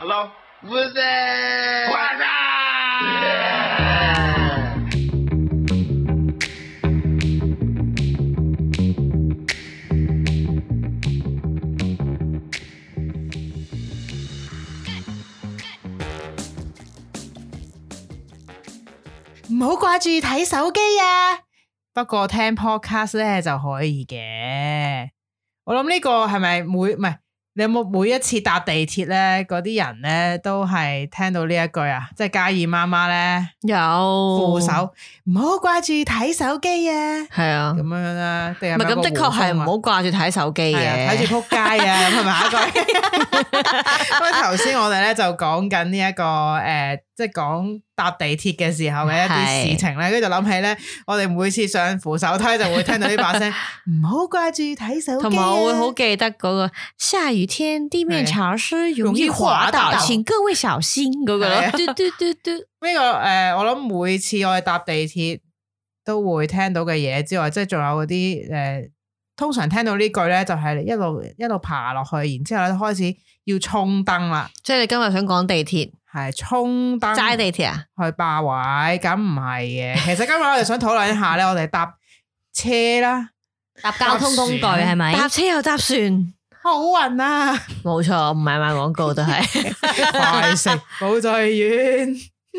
Hello， What's that？ 唔好掛住睇手機啊！不過聽 podcast 咧就可以嘅。我諗呢個係咪唔係？你有冇每一次搭地鐵咧，嗰啲人咧都係聽到呢一句啊？即係嘉義媽媽咧有扶手，唔好掛住睇手機啊！ 係啊， 咁樣啦，定係唔係咁的確係唔好掛住睇手機嘅， 睇住撲街啊！咁係咪下一句？因為頭先我哋咧就講緊呢一個即係講搭地鐵嘅時候嘅一啲事情咧，跟住就諗起咧，我哋每次上扶手梯就會聽到呢把聲，唔好掛住睇手機。 同埋我會好記得嗰個下雨天地面潮濕，容易滑倒，請各位小心嗰個咯。嘟嘟嘟嘟。 呢個我諗每次我哋搭地鐵都會聽到嘅嘢之外，即係仲有嗰啲通常聽到呢句咧，就係一路爬落去，然之後咧開始要衝燈啦。即係你今日想講地鐵。係衝燈齋地鐵啊， 去霸位，咁唔係嘅。其實今日我哋想討論一下咧，我哋搭車啦， 搭交通工具係咪？搭車又搭船， 好運啊！ 冇錯，唔係賣廣告都係快食保濟丸。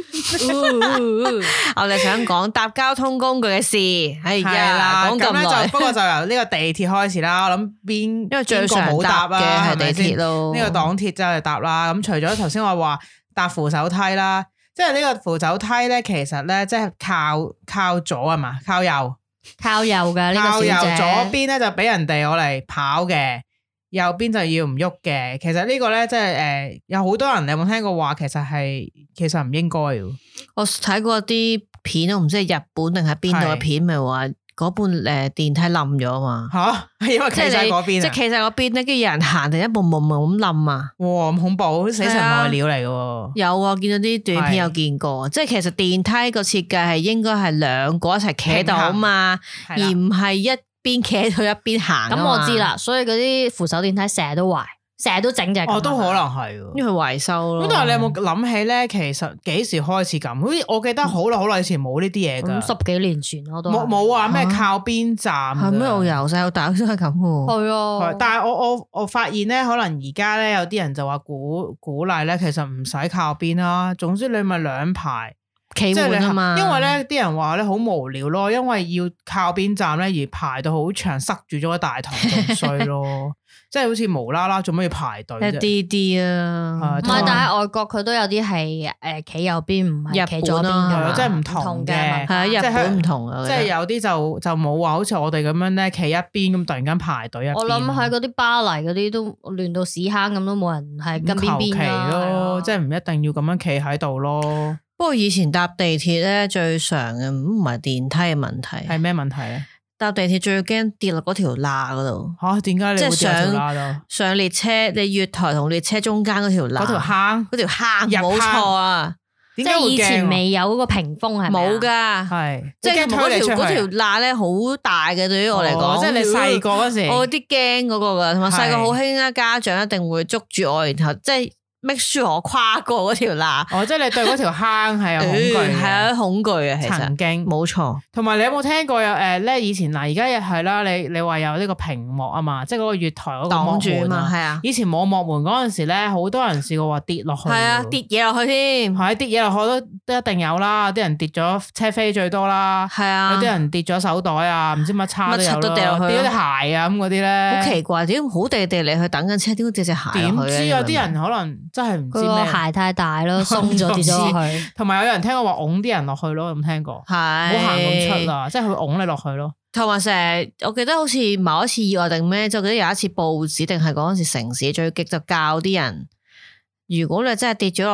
我哋想講搭交通工具嘅事，係啦， 講咁耐， 不過就由呢個地鐵開始啦。我諗因為最常冇搭嘅係地鐵咯， 呢個港鐵就係搭啦。咁除咗頭先我話搭扶手梯啦，即係呢個扶手梯咧，其實咧即係靠左啊嘛，靠右嘅呢個小姐，靠右左邊咧就俾人哋我嚟跑嘅，右邊就要唔喐嘅。其實呢個咧即係有好多人，你有冇聽過話其實唔應該嘅？ 我睇過啲片，我唔知係日本定係邊度嘅片，咪話嗰半電梯冧咗嘛？吓，係因為企晒嗰邊，即係企晒嗰邊咧，跟住有人行，定一步步咁冧啊！哇，咁恐怖，死神來料嚟嘅。有啊，見到啲短片有見過，即係其實電梯個設計係應該係兩個一齊企喺度啊嘛，而唔係一邊企喺度一邊行。咁我知啦，所以嗰啲扶手電梯成日都壞。成日都整隻，都可能係，因為維修咯。咁但係你有冇諗起咧？其實幾時開始咁？好似我記得好耐以前冇呢啲嘢噶，十幾年前我都冇話咩靠邊站，係咩？我由細到大先係咁嘅。係啊，但係我發現咧，可能而家咧有啲人就話鼓勵咧，其實唔使靠邊啦。總之你咪兩排企滿啊嘛。因為咧啲人話咧好無聊咯，因為要靠邊站咧而排到好長，塞住咗個大堂仲衰咯。即係好似無啦啦做咩要排隊啫？一啲啊，唔係，但係外國佢都有啲係企右邊，唔係企左邊嘅，即係唔同嘅。係啊，日本唔同啊，即係有啲就冇話好似我哋咁樣咧，企一邊咁突然間排隊一邊。我諗喺嗰啲巴黎嗰啲都亂到屎坑咁，都冇人係跟邊邊咯。即係唔一定要咁樣企喺度咯。不過以前搭地鐵咧最常嘅唔係電梯嘅問題，係咩問題咧？搭地鐵最驚跌落嗰條罅嗰度。吓，點解你會跌落條罅度？上列車，你月台同列車中間嗰條罅，嗰條坑，冇錯啊！即係以前未有嗰個屏風係咪？冇噶，係即係嗰條罅咧好大嘅，對於我嚟講，即係你細個嗰時，我有啲驚嗰個噶，同埋細個好興啦，家長一定會捉住我，然後即係。make sure 我跨過嗰條罅，即係你對嗰條坑係有恐懼，係啊恐懼啊，其實曾經冇錯。同埋你有冇聽過有咧？以前嗱，而家又係啦，你話有呢個屏幕啊嘛，即係嗰個月台嗰個擋住啊嘛，係啊。以前冇幕門嗰陣時咧，好多人試過話跌落去，係啊，跌嘢落去添，係跌嘢落去都一定有啦。啲人跌咗車飛最多啦，係啊，有啲人跌咗手袋啊，唔知乜叉都有咯，跌咗隻鞋啊咁嗰啲咧，好奇怪，點解好地地嚟去等緊車，點解跌隻鞋？點知有啲人可能。真係唔知咩，個鞋太大咯，鬆咗跌咗落去。同埋有人聽過話拱啲人落去咯，有冇聽過？係，唔好行咁出啦，即係佢拱你落去咯。同埋成日，我記得好似某一次意外定咩，就記得有一次報紙定係嗰陣時城市最激就教啲人，如果你真係跌咗落地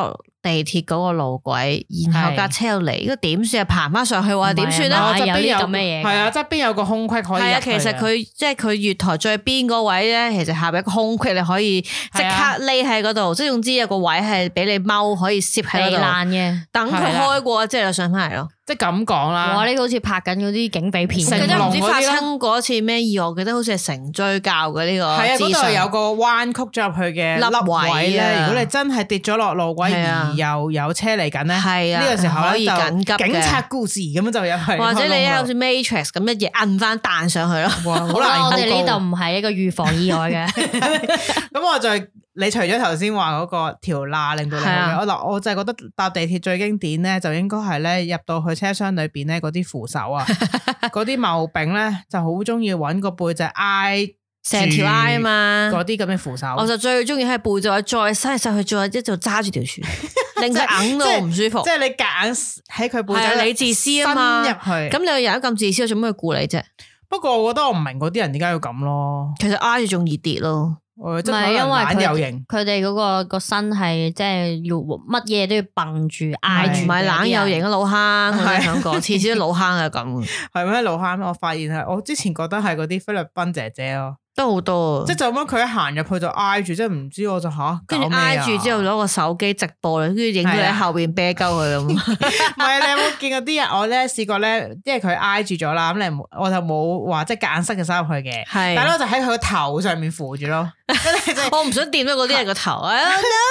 地鐵嗰個路軌，然後架車又嚟，咁點算啊？爬翻上去話點算咧？ 有啲咁嘅嘢，係啊，側邊有個空隙可以。係啊， 其實佢即係佢月台最邊嗰位咧，其實下邊一個空隙你可以即刻匿喺嗰度，即係總之有個位係俾你踎，可以攝喺度嘅，等佢開過之後就上翻嚟咯。即係咁講啦。 哇！呢個好似拍緊嗰啲警匪片， 佢都唔知發生過一次咩意外，我記得好似係成追教嘅呢個。係啊， 嗰度有個彎曲咗入去嘅凹位咧。如果你真係跌咗落路軌而又有車嚟緊咧，呢個時候可以緊急警察故事咁樣就入去。 或者你好似 Matrix 咁一嘢摁翻彈上去咯。 好啦，我哋呢度唔係一個預防意外嘅。 咁我就你除咗頭先話嗰個條罅令到你我就係覺得搭地鐵最經典咧，就應該係咧入到去車廂裏邊咧嗰啲扶手啊，嗰啲毛柄咧就好中意揾個背脊挨成條挨啊嘛， 嗰啲咁嘅扶手。 我就最中意喺背脊再伸上去，再一就揸住條船，令佢硬到唔舒服。 即係你夾硬喺佢背脊， 你自私啊嘛， 伸入去。咁你個人咁自私，做咩去顧你啫？ 不過我覺得我唔明嗰啲人點解要咁咯。 其實挨住仲易跌咯。 唔係因為佢哋嗰個身係即係要乜嘢都要蹦住挨住， 唔係懶有型嘅老坑。我想講，次次都老坑係咁。 係咩老坑？我發現係我之前覺得係嗰啲菲律賓姐姐咯。 都好多， 即係就咁樣佢一行入去就挨住，即係唔知我就跟住挨住之後攞個手機直播，跟住影到喺後邊啤鳩佢咁。唔係你有冇見過啲人？我咧試過咧，因為佢挨住咗啦，咁我就冇話即係夾硬塞隻手入去嘅，但係我就喺佢個頭上面扶住咯。 我唔想掂到嗰啲人個頭啊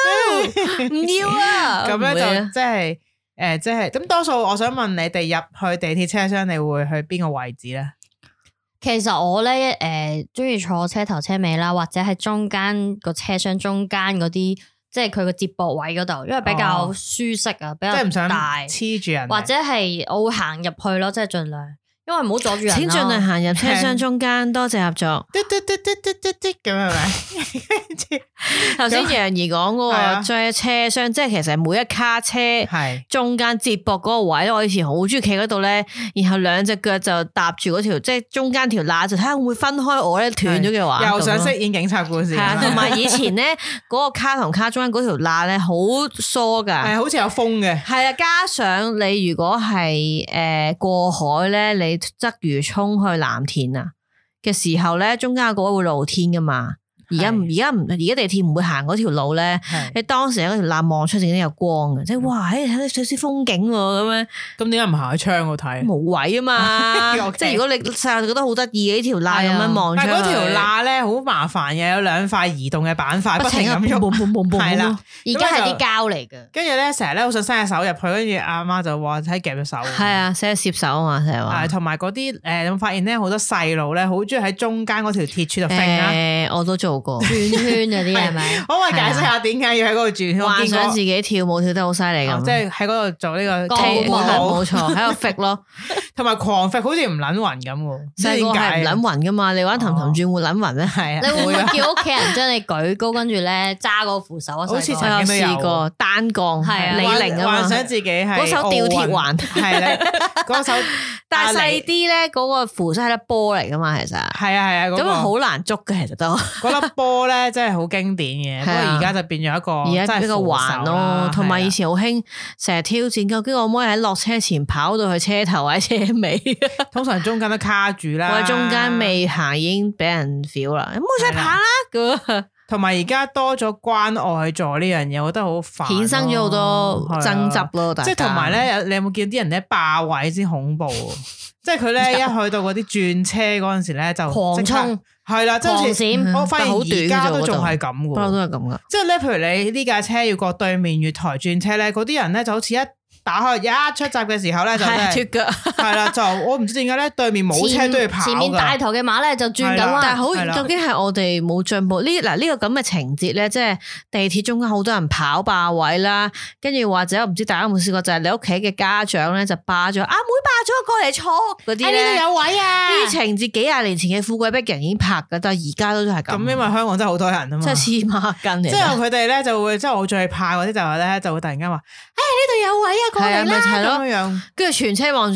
！No， 唔要啊！ 咁咧就即係即係咁多數，我想問你哋入去地鐵車廂，你會去邊個位置咧？ 其實我咧中意坐車頭車尾啦，或者係中間個車廂中間嗰啲，即係佢個接駁位嗰度，因為比較舒適啊，比較大，即係唔想黐住人， 或者係我會行入去咯，即係盡量。因為唔好阻住人， 請盡量行入車廂中間，多謝合作。 咁係咪？ 頭先楊怡講嗰個在車廂，即係其實每一卡車中間接駁嗰個位，我以前好中意企嗰度咧，然後兩隻腳就搭住嗰條，即係中間條罅，就睇下會唔會分開我咧斷咗嘅話， 又想飾演警察故事。係啊， 同埋以前咧嗰個卡同卡中間嗰條罅咧好疏噶， 係好似有風嘅。係啊，加上你如果係過海咧，你鰂魚涌去藍田啊嘅時候咧，中間嗰個會露天噶嘛。而家地鐵唔會行嗰條路咧，你當時喺嗰條罅望出，已經有光嘅，即係哇！睇到少少風景咁樣。咁點解唔行喺窗度睇？冇位啊嘛，即係如果你細路覺得好得意嘅呢條罅咁樣望出去。但係嗰條罅咧好麻煩嘅，有兩塊移動嘅板塊，不停咁喐。係啦， 而家係啲膠嚟嘅。 跟住咧，成日咧好想伸隻手入去，跟住阿媽就話睇夾隻手。 係啊，成日攝手啊嘛，成日話。 係同埋嗰啲有冇發現咧？好多細路咧，好中意喺中間嗰條鐵柱度揈啊！ 我都做。 轉圈嗰啲係咪？ 可唔可以解釋下點解要喺嗰度轉圈？ 幻想自己跳舞跳得好犀利咁， 即係喺嗰度做呢個跳舞，冇錯，喺度 fit 咯， 同埋狂 fit，好似唔撚暈咁喎。 細個係唔撚暈噶嘛？你玩氹氹轉會撚暈咩？係啊， 你會唔會叫屋企人將你舉高，跟住咧揸個扶手啊？ 好似曾經試過單槓，係李寧啊嘛， 幻想自己係嗰手吊鐵環， 係咧嗰手， 但係細啲咧，嗰個扶手係粒波嚟噶嘛，其實係啊， 咁好難捉嘅，其實都嗰粒波咧真係好經典嘅，不過而家就變咗一個而家比較環咯，同埋以前好興成日挑戰，究竟我可唔可以喺落車前跑到去車頭或者車尾？ 通常中間都卡住啦， 或者中間未行已經俾人 feel 啦，唔好再跑啦咁。 同埋而家多咗關愛座呢樣嘢，我覺得好煩， 衍生咗好多爭執咯。 即係同埋咧，你有冇見啲人咧霸位先恐怖？即係佢咧一去到嗰啲轉車嗰陣時咧就狂衝， 係啦，即係好似我發現而家都仲係咁嘅， 不嬲都係咁噶。 即係咧，譬如你呢架車要過對面月台轉車咧，嗰啲人咧就好似一打開一出閘嘅時候咧就脫腳， 係啦，就我唔知點解咧對面冇車都要跑， 前面大頭嘅馬咧就轉緊彎， 但係好究竟係我哋冇進步呢？嗱呢個咁嘅情節咧，即係地鐵中間好多人跑霸位啦，跟住或者我唔知大家有冇試過，就係你屋企嘅家長咧就霸咗阿妹霸咗過嚟坐嗰啲咧， 呢度有位啊！ 呢啲情節幾廿年前嘅富貴逼人已經拍噶，但係而家都係咁。 咁因為香港真係好多人啊嘛， 即係黐孖筋。即係佢哋咧就會，即係我最怕嗰啲就係咧就會突然間話，呢度有位啊，過嚟啦咁樣， 跟住全車望住你，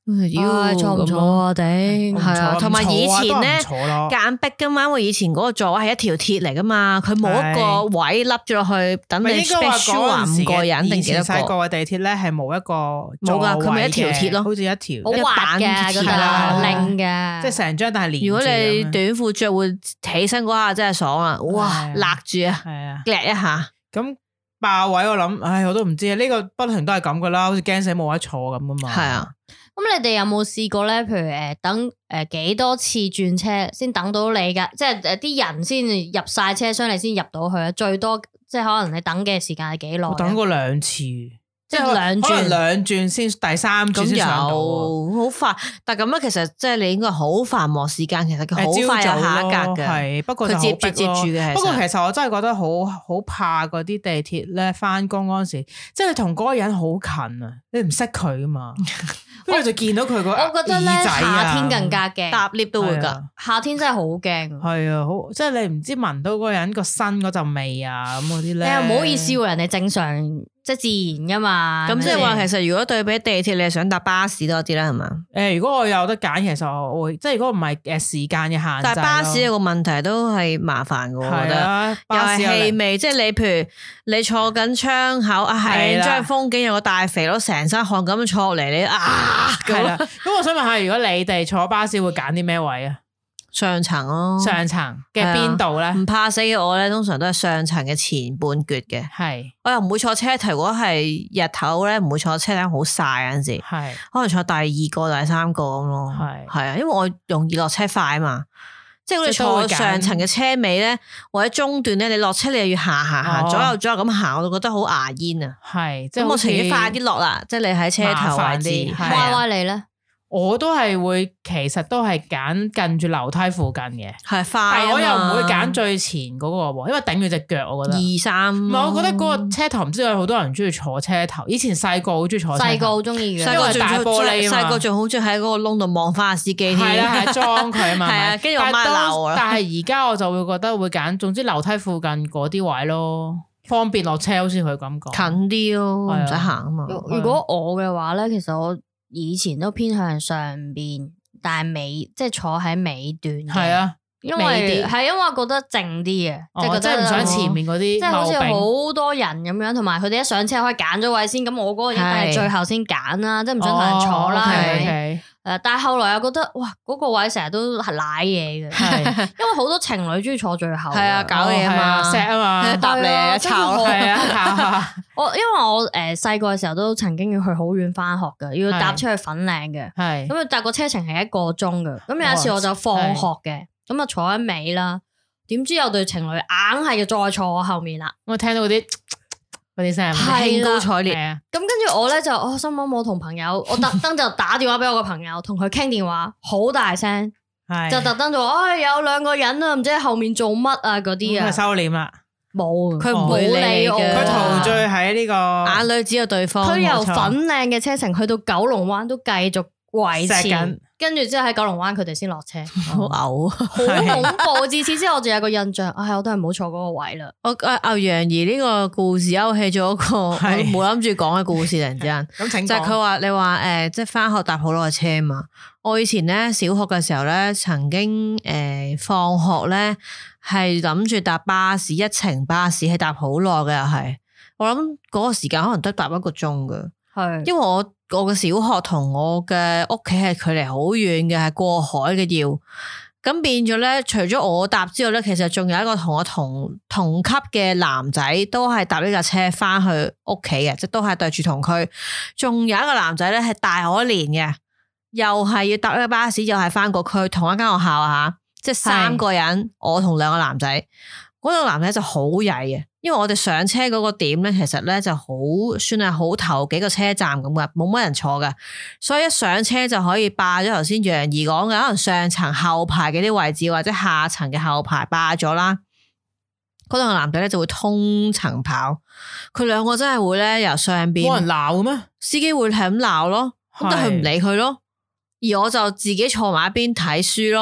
坐唔坐啊？頂係啊，同埋以前咧間逼噶嘛，因為以前嗰個座位係一條鐵嚟噶嘛，佢冇一個位凹咗落去等你 special 話5個人定幾多個？ 細個嘅地鐵咧係冇一個冇噶，佢咪一條鐵咯， 好似一條好滑嘅嗰度令嘅， 即係成張但係連。 如果你短褲着會起身嗰下真係爽啊！哇，勒住啊，夾一下咁。霸位我諗，唉，我都唔知啊！呢個不停都係咁噶啦，好似驚死冇得坐咁啊嘛。 係啊， 咁你哋有冇試過咧？譬如等幾多次轉車先等到你噶？即係啲人先入晒車廂，你先入到去啊？最多即係可能你等嘅時間係幾耐？ 我等過2次。 即係兩轉先，第三轉先上到， 好快。但係咁樣其實即係你應該好繁忙時間，其實佢好快有下一格嘅。 係，不過佢接住嘅。 不過其實我真係覺得好怕嗰啲地鐵咧，翻工嗰陣時，即係你同嗰個人好近啊，你唔識佢噶嘛，跟住就見到佢個耳仔啊。 我覺得咧夏天更加驚， 搭 lift 都會噶。 夏天真係好驚。 係啊，好即係你唔知聞到嗰個人個身嗰陣味啊，咁嗰啲咧。 你又唔好意思喎，人哋正常。即係自然噶嘛， 咁即係話其實如果對比地鐵，你係想搭巴士多啲啦，係嘛？ 如果我有得揀，其實我會即係如果唔係時間嘅限制。 但係巴士有個問題都係麻煩嘅，我覺得又係氣味，即係你譬如你坐緊窗口係張風景有個大肥佬成身汗咁坐落嚟，你係啦。咁我想問下，如果你哋坐巴士會揀啲咩位啊？ 上層咯， 上層嘅邊度咧？ 唔怕死嘅我咧，通常都係上層嘅前半橛嘅。 係， 我又唔會坐車頭。如果係日頭咧，唔會坐車頂好曬嗰陣時。係，可能坐第2個、第3個咁咯。係啊，因為我容易落車快啊嘛。即係我哋坐上層嘅車尾咧，或者中段咧，你落車你又要行左右咁行，我就覺得好牙煙啊。 係， 咁我情願快啲落啦。即係你喺車頭位置。 歪歪你咧？ 我都係會，其實都係揀近住樓梯附近嘅， 係快。 但係我又唔會揀最前嗰個喎，因為頂住隻腳，我覺得。 2、3。唔係，我覺得嗰個車頭唔知有好多人中意坐車頭。以前細個好中意坐車頭。 細個好中意嘅， 因為大玻璃啊嘛。 細個仲好中意喺嗰個窿度望翻下司機添。 係啦，係裝佢啊嘛。 係啊，跟住我媽鬧我啦。 但係而家我就會覺得會揀，總之樓梯附近嗰啲位咯，方便落車，好似佢咁講。 近啲咯，唔使行啊嘛。 如果我嘅話咧，其實我以前都偏向上邊，但係尾即係坐喺尾段。係啊，因為我覺得靜啲嘅，即係覺得唔想前面嗰啲，即係好似好多人咁樣，同埋佢哋一上車可以揀咗位先，咁我嗰個一定係最後先揀啦，即係唔想同人坐啦，係咪？但係後來又覺得哇，嗰個位成日都係瀨嘢嘅，因為好多情侶中意坐最後。係啊， 搞嘢啊嘛，錫啊嘛，搭你啊，抄咯，係啊， 因為我細個嘅時候都曾經要去好遠翻學嘅，要搭出去粉嶺嘅，係咁搭個車程係1個鐘嘅。咁有一次我就放學嘅，咁啊坐喺尾啦，點知有對情侶硬係要再坐我後面啦。 我聽到嗰啲聲， 興高采烈。 咁跟住我咧就心諗我同朋友，我特登就打電話俾我個朋友，同佢傾電話，好大聲，就特登就話，有2個人啊，唔知喺後面做乜啊嗰啲啊。 收斂啦， 冇， 佢唔會理我， 佢陶醉喺呢個眼裏只有對方。 佢由粉嶺嘅車程去到九龍灣都繼續維持，跟住之後喺九龍灣佢哋先落車， 好嘔， 好恐怖。自此之後我就有個印象，我都係唔好坐嗰個位啦。 牛楊怡呢個故事勾起咗一個我冇諗住講嘅故事，突然之間就係佢話你話即係翻學搭好耐車嘛。我以前咧小學嘅時候咧，曾經放學咧係諗住搭巴士，一程巴士係搭好耐嘅，又係我諗嗰個時間可能都搭1個鐘嘅，係因為我嘅小學同我嘅屋企係距離好遠嘅，係過海嘅要，咁變咗咧，除咗我搭之外咧，其實仲有一個同我同級嘅男仔都係搭呢架車翻去屋企嘅，即都係對住同區，仲有一個男仔咧係大我1年嘅，又係要搭呢個巴士，又係翻個區，同一間學校啊，即係3個人，我同2個男仔，嗰個男仔就好曳嘅。因為我哋上車嗰個點咧，其實咧就好算係好頭幾個車站咁嘅，冇乜人坐嘅，所以一上車就可以霸咗頭先楊怡講嘅，可能上層後排嘅啲位置或者下層嘅後排霸咗啦。嗰兩個男仔咧就會通層跑，佢2個真係會咧由上邊冇人鬧嘅咩？ 司機會係咁鬧咯，咁但係佢唔理佢咯。而我就自己坐埋一邊睇書咯。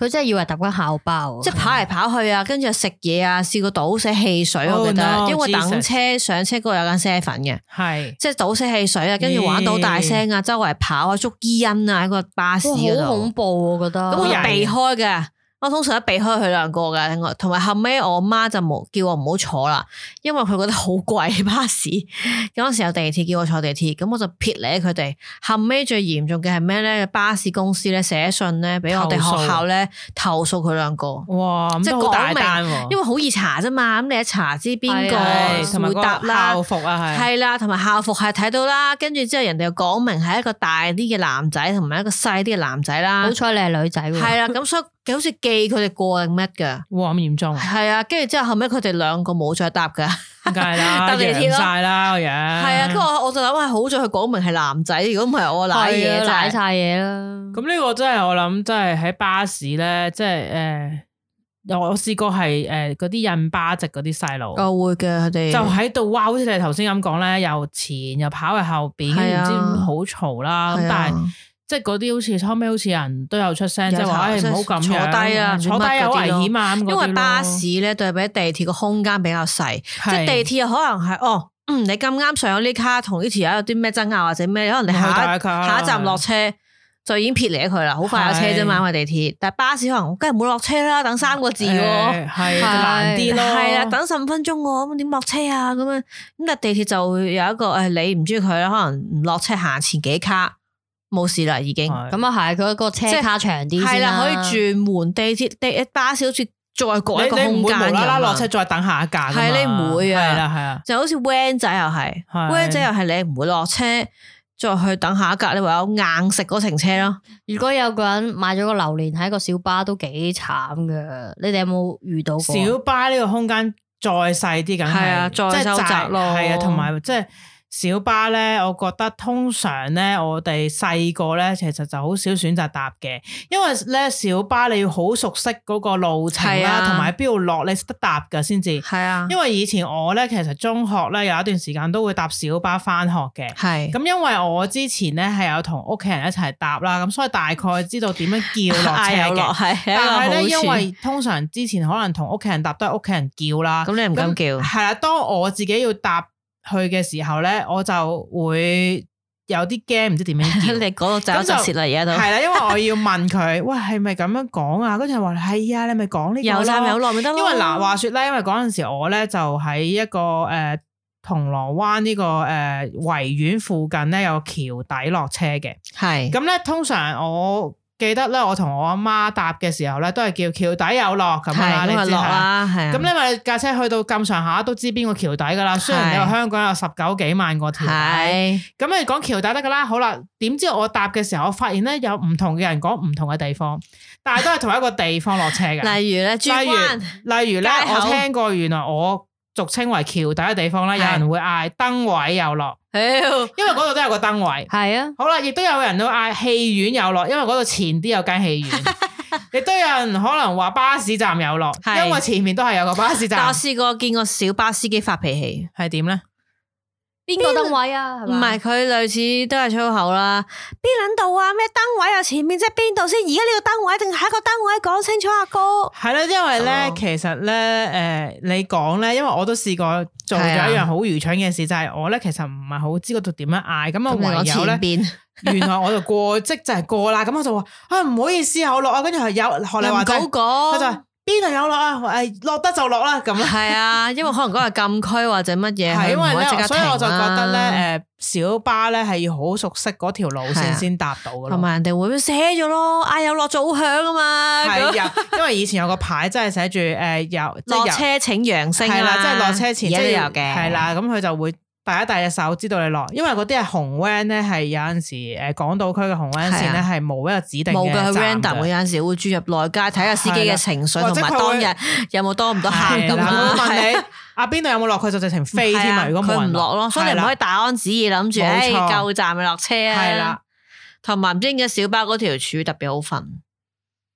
佢真係以為搭緊校巴， 即係跑嚟跑去啊，跟住食嘢啊，試過倒瀉汽水，我記得，因為等車上車嗰度有間 seven 嘅，係即係倒瀉汽水啊，跟住玩到大聲啊，周圍跑啊，捉伊人啊喺個巴士嗰度， 好恐怖我覺得， 咁我避開嘅。我通常都避開佢兩個嘅，同埋後尾我媽就冇叫我唔好坐啦，因為佢覺得好貴巴士。嗰陣時有地鐵叫我坐地鐵，咁我就撇離佢哋。後尾最嚴重嘅係咩咧？巴士公司咧寫信咧俾我哋學校咧投訴佢兩個。哇，即係好大單，因為好易查啫嘛。咁你一查知邊個會答啦，校服啊係啦，同埋校服係睇到啦。跟住之後人哋又講明係一個大啲嘅男仔，同埋一個細啲嘅男仔啦。 好彩你係女仔喎。係啦， 咁所以。好似記佢哋過定乜噶？ 哇咁嚴重！ 係啊，跟住之後後尾佢哋兩個冇再搭噶， 梗係啦，搭地鐵咯，晒啦個樣。係啊，跟住我就諗係好在佢講明係男仔，如果唔係我瀨嘢瀨晒嘢啦。 咁呢個真係我諗，真係喺巴士咧，即係我試過係嗰啲印巴籍嗰啲細路， 我會嘅佢哋就喺度哇，好似你頭先咁講咧，又前又跑去後邊，唔知好嘈啦。咁但係。即係嗰啲好似後尾好似人都有出聲，即係話唔好咁坐低啊， 坐低有危險啊。 因為巴士咧對比地鐵個空間比較細，即係地鐵又可能係你咁啱上咗呢卡同呢條友有啲咩爭拗或者咩，可能你下一站落車就已經撇離佢啦，好快有車啫嘛。因為地鐵，但係巴士可能梗係唔好落車啦，等3個字喎，係難啲咯。 係啊，等15分鐘喎，咁點落車啊？咁樣咁但係地鐵就有一個你唔中意佢啦，可能唔落車行前幾卡。冇事啦，已經咁啊，係佢個車卡長啲先啦， 可以轉門。地鐵巴士好似再過一個空間， 你唔會無啦啦落車再等下一架， 係你唔會啊， 係啦係啊， 就好似 van 仔又係 van 仔又係你唔會落車再去等下一架，你唯有硬食嗰程車咯。 如果有個人買咗個榴蓮喺個小巴都幾慘噶，你哋有冇遇到過？ 小巴呢個空間再細啲，梗係再收窄咯， 係啊，同埋即係。小巴咧，我覺得通常咧，我哋細個咧，其實就好少選擇搭嘅，因為咧小巴你要好熟悉嗰個路程啦，同埋喺邊度落你識得搭噶先至。係啊，因為以前我咧其實中學咧有一段時間都會搭小巴翻學嘅。係咁，因為我之前咧係有同屋企人一齊搭啦，咁所以大概知道點樣叫落車嘅。但係咧，因為通常之前可能同屋企人搭都係屋企人叫啦， 咁你唔敢叫。 係啦，當我自己要搭去嘅時候咧，我就會有啲驚，唔知點樣叫。 你講到就舌啦，而家都係啦，因為我要問佢，喂，係咪咁樣講啊？嗰陣話係啊，你咪講呢個咯。 有站有落咪得咯。 因為嗱，話說咧，因為嗰陣時我咧就喺一個銅鑼灣呢個維園附近咧有個橋底落車嘅。係咁咧，通常我記得咧，我同我阿媽搭嘅時候咧，都係叫橋底有落咁啦，你知啦。咁因為架車去到咁上下都知邊個橋底噶啦。雖然你話香港有19幾萬個橋底，咁你講橋底得噶啦。好啦，點知我搭嘅時候，我發現咧有唔同嘅人講唔同嘅地方，但係都係同一個地方落車嘅。 例如咧， 例如咧，我聽過原來我俗稱為橋底嘅地方咧，有人會嗌燈位有落。因為嗰度都有個燈位，係啊，好啦，亦都有人都嗌戲院有落，因為嗰度前啲有間戲院，亦都有人可能話巴士站有落，因為前面都係有個巴士站。 但我試過見過小巴司機發脾氣， 係點咧？ 邊個燈位啊？ 唔係佢類似都係粗口啦。邊撚度啊？咩燈位啊？前面即係邊度先？而家呢個燈位定下一個燈位？講清楚啊，哥。係啦，因為咧， 其實咧，你講咧，因為我都試過做咗一樣好愚蠢嘅事，就係我咧其實唔係好知嗰度點樣嗌，咁啊唯有咧，原來我就過即就係過啦，咁我就話啊唔好意思啊，我落啊，跟住係有學你話齋，佢就邊度有落啊？落得就落啦，咁啦。 係啊，因為可能嗰個禁區或者乜嘢， 係因為咧，所以我就覺得咧，小巴咧係要好熟悉嗰條路線先搭到噶咯。 同埋人哋會寫咗咯，嗌有落早響啊嘛。 係啊，因為以前有個牌真係寫住有落車請揚聲，係啦， 即係落車前都有嘅。 係啦，咁佢就會第一隻手知道你落，因為嗰啲係紅 van 咧，係有陣時港島區嘅紅 van 線咧係冇一個指定嘅站嘅。冇嘅，佢 random 有陣時會轉入內街睇下司機嘅情緒同埋當日有冇多唔多客咁樣。 我問你邊度有冇落，佢就直情飛添啊！如果冇人唔落咯，所以你唔可以大安旨意諗住夠站咪落車啊。 係啦， 同埋唔知點解小巴嗰條柱特別好瞓。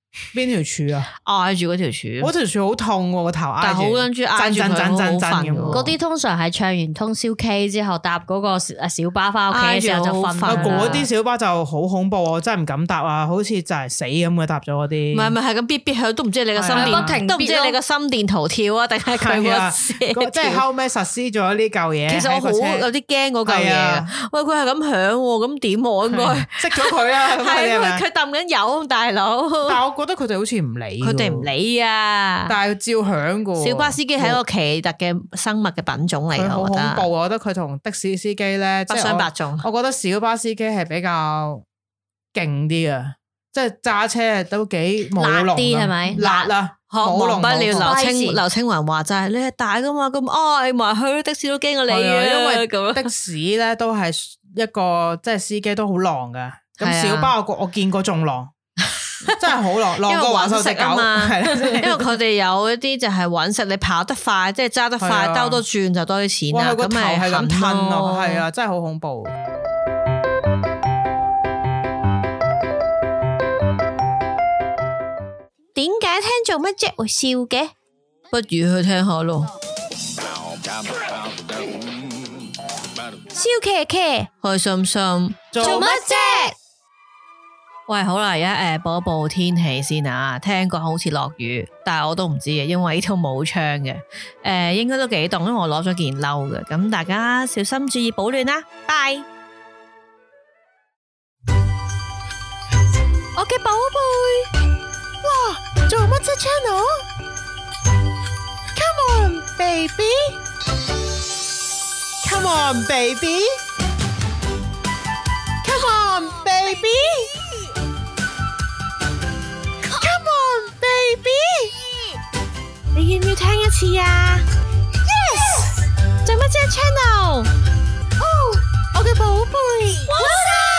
邊條柱啊？ 挨住嗰條柱， 嗰條柱好痛喎，個頭挨住， 但係好撚住挨住佢，好瞓。 嗰啲通常係唱完通宵 K 之後搭嗰個小巴翻屋企嘅時候就瞓。 嗰啲小巴就好恐怖，我真係唔敢搭啊！好似就係死咁嘅搭咗嗰啲。 唔係咁嗶嗶響，都唔知你個心電，都唔知你個心電圖跳啊，定係佢個即係後尾實施咗呢嚿嘢。 其實我好有啲驚嗰嚿嘢。喂，佢係咁響，咁點我應該熄咗佢啊？ 係佢抌緊油，大佬。 但係我覺得佢哋好似唔理， 佢哋唔理啊！ 但係照響噶。小巴司機係一個奇特嘅生物嘅品種嚟嘅， 好恐怖。我覺得佢同的士司機咧不相伯仲。 我覺得小巴司機係比較勁啲啊，即係揸車都幾辣啲，係咪？ 辣啊！ 忘不了劉青雲話齋，你係大噶嘛，咁挨埋去的士都驚過你啊！ 因為的士咧都係一個即係司機都好狼噶，咁小巴我見過仲狼。真係好狼過玩手隻狗嘛， 因為佢哋有一啲就係搵食，你跑得快，即係揸得快，兜多轉就多啲錢啦。 咁咪係咁吞咯，係啊，真係好恐怖。 點解聽做乜啫會笑嘅？不如去聽下咯。笑騎騎，開心心，做乜啫？喂，好啦，而家報一報天氣先啊。聽講好似落雨，但係我都唔知嘅，因為呢度冇窗嘅。應該都幾凍，因為我攞咗件褸嘅。咁大家小心注意保暖啦。拜。我嘅寶貝，哇，做乜啫 Channel？Come on baby， Come on baby， Come on baby。Come on baby， 你要唔要聽一次啊 ？Yes， 做乜啫 Channel？ 哦，我嘅寶貝。 What's up？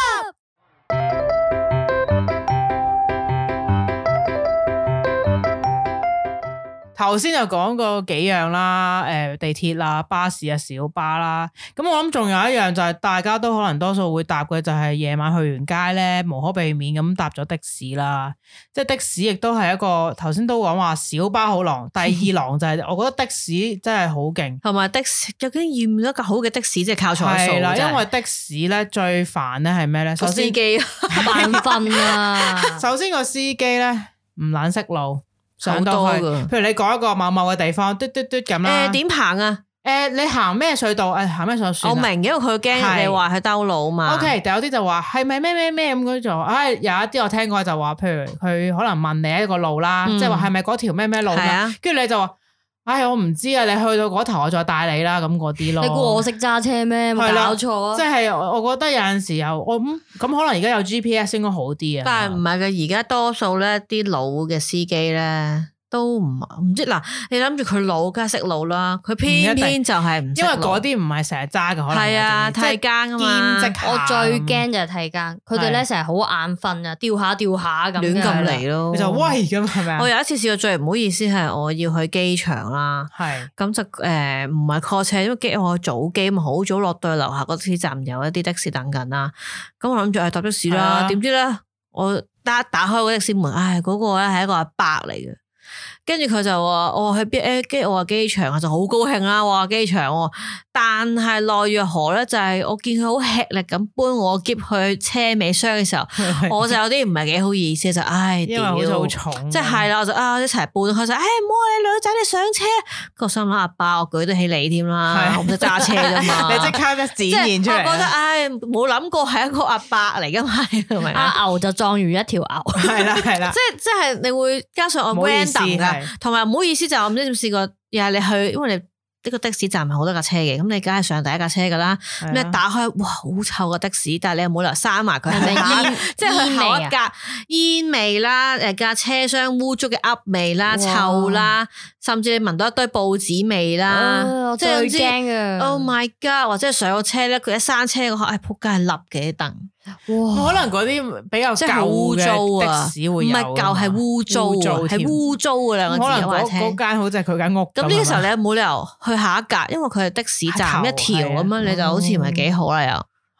頭先就講過幾樣啦，地鐵啦、巴士啊、小巴啦，咁我諗仲有一樣就係大家都可能多數會搭嘅，就係夜晚去完街咧，無可避免咁搭咗的士啦。即係的士亦都係一個頭先都講話小巴好狼，第二狼就係我覺得的士真係好勁， 同埋的士究竟要唔要一個好嘅的士，即係靠彩數。係啦， 因為的士咧最煩咧係咩咧？ 個司機眼瞓啊！ 首先個司機咧唔懶識路。上到去，譬如你講一個某某嘅地方，嘟嘟嘟咁啦。 點行啊？ 你行咩隧道？行咩隧道算？ 我明，因為佢驚你話佢兜路嘛。 OK，但有啲就話係咪咩咁嗰種？有一啲我聽過就話，譬如佢可能問你一個路啦，即係話係咪嗰條咩路啦？跟住你就話，我唔知啊，你去到嗰頭我再帶你啦，咁嗰啲咯。 你估我識揸車咩？冇搞錯啊！ 即係我覺得有陣時候我咁可能而家有 GPS 應該好啲啊。 但係唔係嘅，而家多數咧啲老嘅司機咧都唔知嗱，你諗住佢老梗係識路啦，佢偏偏就係唔識路，因為嗰啲唔係成日揸嘅，可能係啊替更啊嘛。 我最驚就係替更，佢哋咧成日好眼瞓啊，掉下咁亂咁嚟咯， 你就喂咁係咪？ 我有一次試過最唔好意思係我要去機場啦，係咁就唔係 call 車，因為我早機嘛，好早落到去樓下嗰啲站有一啲的士等緊啦，咁我諗住搭的士啦，點知咧我打開個的士門，嗰個咧係一個阿伯嚟嘅。跟住佢就話我去邊？跟住我話機場，就好高興啦！我話機場，但係奈若何咧，就係我見佢好吃力咁搬我篋去車尾箱嘅時候，我就有啲唔係幾好意思，就因為好似好重， 即係啦，我就一齊搬，佢就唔好你女仔你上車，個心諗阿爸，我舉得起你添啦，我唔識揸車啫嘛， 你即刻一展現出嚟， 我覺得冇諗過係一個阿伯嚟噶嘛，係咪？ 阿牛就壯如一條牛， 係啦， 即係你會加上我 random 噶。同埋唔好意思就我唔知點試過，又係你去，因為你呢個的士站係好多架車嘅，咁你梗係上第一架車噶啦，咁一打開，哇好臭個的士，但係你又冇理由閂埋佢，係咪煙？即係佢後一格煙味啦，架車廂污糟嘅噏味啦，臭啦，甚至你聞到一堆報紙味啦，即係最驚啊 ！Oh my god！或者上個車咧，佢一閂車嗰刻，仆街係笠嘅凳。 哇！可能嗰啲比較舊嘅的士會有， 唔係舊係污糟，係污糟嘅兩個字。 可能嗰間好似係佢間屋。 咁呢個時候你冇理由去下一格，因為佢係的士站一條咁樣，你就好似唔係幾好啦又。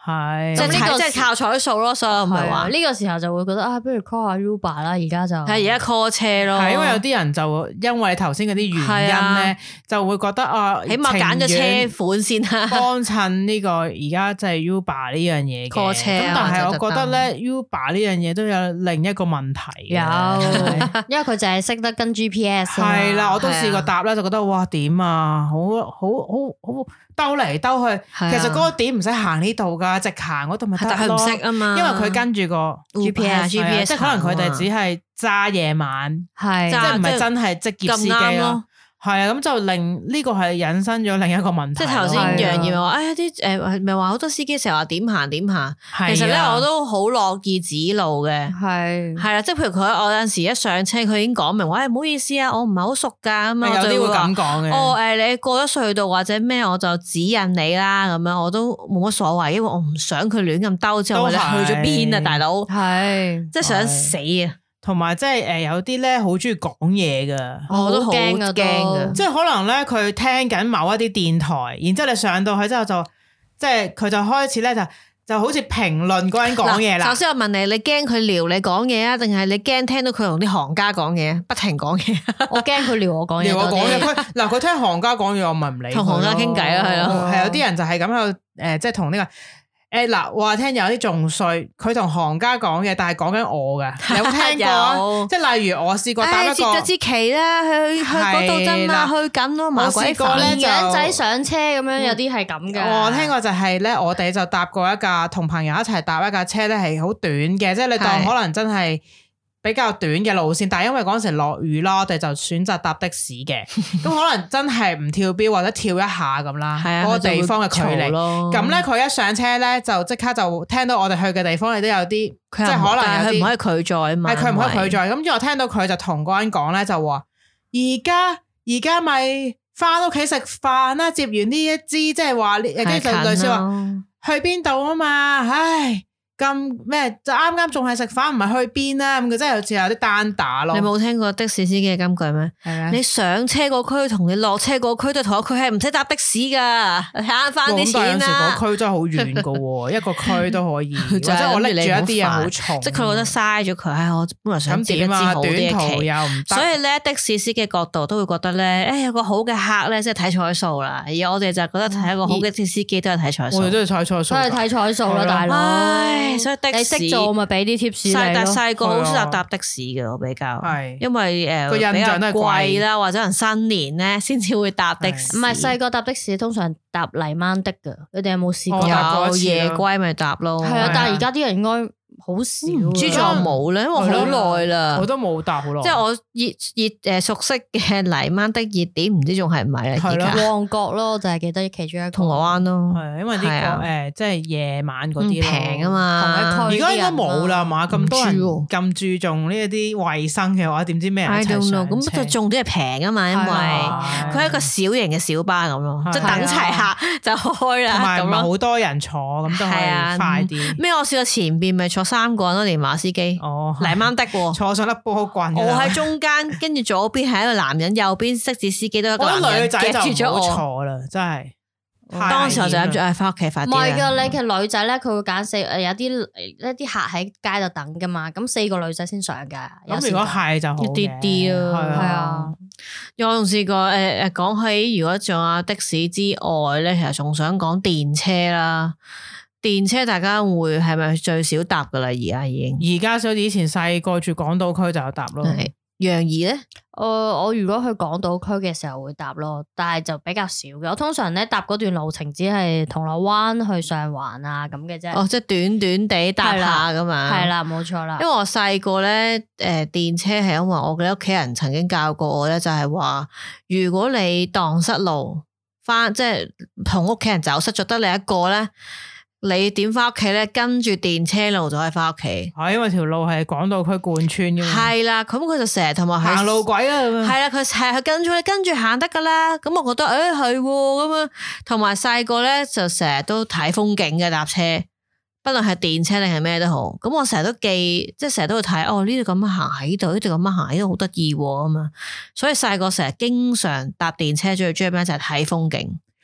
係， 即係靠彩數咯，所以唔係話呢個時候就會覺得不如 call 下 Uber 啦，而家就係而家 call 車咯， 係因為有啲人就因為頭先嗰啲原因咧，就會覺得起碼揀咗車款先啦， 幫襯呢個而家即係 Uber 呢樣嘢 call 車， 咁但係我覺得咧 Uber 呢樣嘢都有另一個問題， 因為佢就係識得跟 GPS， 係啦，我都試過搭咧，就覺得哇點啊，好兜嚟兜去，其實嗰個點唔使行呢度噶，直行嗰度咪得咯。但係唔識啊嘛，因為佢跟住個 GPS，即係可能佢哋只係揸夜晚，即係唔係真係職業司機咯。係啊，咁就令呢個係引申咗另一個問題。 即係頭先楊怡咪話，啲咪話好多司機成日話點行點行，其實咧我都好樂意指路嘅。係啦，即係譬如我有陣時一上車，佢已經講明話，唔好意思啊，我唔係好熟㗎咁樣。有啲會咁講嘅。你過咗隧道或者咩，我就指引你啦咁樣，我都冇乜所謂，因為我唔想佢亂咁兜之後，或者去咗邊啊，大佬。係，即係想死啊！ 同埋即係有啲咧好中意講嘢噶， 我都好驚噶， 即係可能咧佢聽緊某一啲電台，然之後你上到去之後就即係佢就開始咧就好似評論嗰人講嘢啦。 首先我問你驚佢撩你講嘢啊，定係你驚聽到佢同啲行家講嘢，不停講嘢？ 我驚佢撩我講嘢。 撩我講嘢，佢聽行家講嘢，我咪唔理。 同行家傾偈啦，係咯。 係有啲人就係咁喺度即係同呢個。話聽有啲仲衰，佢同行家講嘅，但係講緊我嘅，有冇聽過？即係例如我試過搭一個， 接咗支旗啦，去嗰度真啦，去緊咯，麻鬼煩。 養仔上車咁樣，有啲係咁嘅。 我聽過就係咧，我哋就搭過一架同朋友一齊搭一架車咧，係好短嘅，即係你當可能真係比較短嘅路線，但係因為嗰陣時落雨啦，我哋就選擇搭的士嘅，咁可能真係唔跳標或者跳一下咁啦，嗰個地方嘅距離。咁咧佢一上車咧就即刻就聽到我哋去嘅地方，你都有啲即係可能有啲， 佢唔可以拒載啊嘛， 係佢唔可以拒載。咁之後我聽到佢就同嗰人講咧，就話而家咪翻屋企食飯啦，接完呢一支即係話跟住就類似話去邊度啊嘛，唉。咁咩就啱啱仲係食飯，唔係去邊啊？咁佢真係好似有啲單打咯。 你冇聽過的士司機嘅金句咩？ 係你上車個區同你落車個區都同一區，係唔使搭的士噶，慳翻啲錢啦。 有時個區真係好遠噶，一個區都可以。或者我拎住一啲嘢好重， 即係佢覺得嘥咗佢。我本來想接一支好啲嘅旗，所以咧的士司機角度都會覺得咧，有個好嘅客咧，即係睇彩數啦。而我哋就覺得睇一個好嘅的士司機都係睇彩數。 我哋都係睇彩數， 都係睇彩數啦，大佬。 所以的士你識做咪俾啲 tips 你咯。 但細個好少搭的士嘅，我比較，因為個印象都係貴啦，或者可能新年咧先至會搭的士。 唔係細個搭的士，通常搭泥鯭的噶。你哋有冇試過？ 有夜歸咪搭咯。 係啊，但係而家啲人應該好少。 唔知仲有冇咧？因為好耐啦， 我都冇搭好耐。 即係我熱熟悉嘅泥鯭的熱點，唔知仲係唔係咧？而家旺角咯，就係記得其中一個銅鑼灣咯。 係因為呢個即係夜晚嗰啲平啊嘛。 而家應該冇啦嘛，咁多人咁注重呢一啲衛生嘅話，點知咩人一齊上車？ 咁就重點係平啊嘛，因為佢係一個小型嘅小巴咁咯，即係等齊客就開啦。 同埋唔係好多人坐，咁都可以快啲。 咩？我試過前邊咪坐3個人咯，連馬司機。哦，泥鯭的坐上粒波棍。 我喺中間，跟住左邊係一個男人，右邊識字司機都係一個男人。 女仔就夾住咗我坐啦，真係。 當時我就諗住翻屋企快啲。 唔係噶，你其實女仔咧，佢會揀有啲客喺街度等噶嘛，咁4個女仔先上噶。 咁如果係就好一啲啲咯，係啊。我仲試過講起如果仲有的士之外咧，其實仲想講電車啦。電車大家會係咪最少搭噶啦？而家已經， 而家所以以前細個住港島區就有搭咯。 楊怡咧， 我如果去港島區嘅時候會搭咯，但係就比較少嘅。我通常咧搭嗰段路程只係銅鑼灣去上環啊咁嘅啫。 哦，即係短短地搭下噶嘛。 係啦，冇錯啦。 因為我細個咧，電車係因為我嘅屋企人曾經教過我咧，就係話如果你蕩失路翻，即係同屋企人走失咗得你一個咧。你點翻屋企咧？跟住電車路就可以翻屋企。 因為條路係港島區貫穿嘅嘛。 係啦，咁佢就成日同埋行路軌啦。 係啦，佢係跟住行得噶啦。咁我覺得係咁啊。同埋細個咧就成日都睇風景嘅搭車，不論係電車定係咩都好。咁我成日都記，即係成日都會睇。呢度咁樣行喺度，呢度咁樣行喺度好得意咁啊。所以細個成日經常搭電車，最中意咩就係睇風景。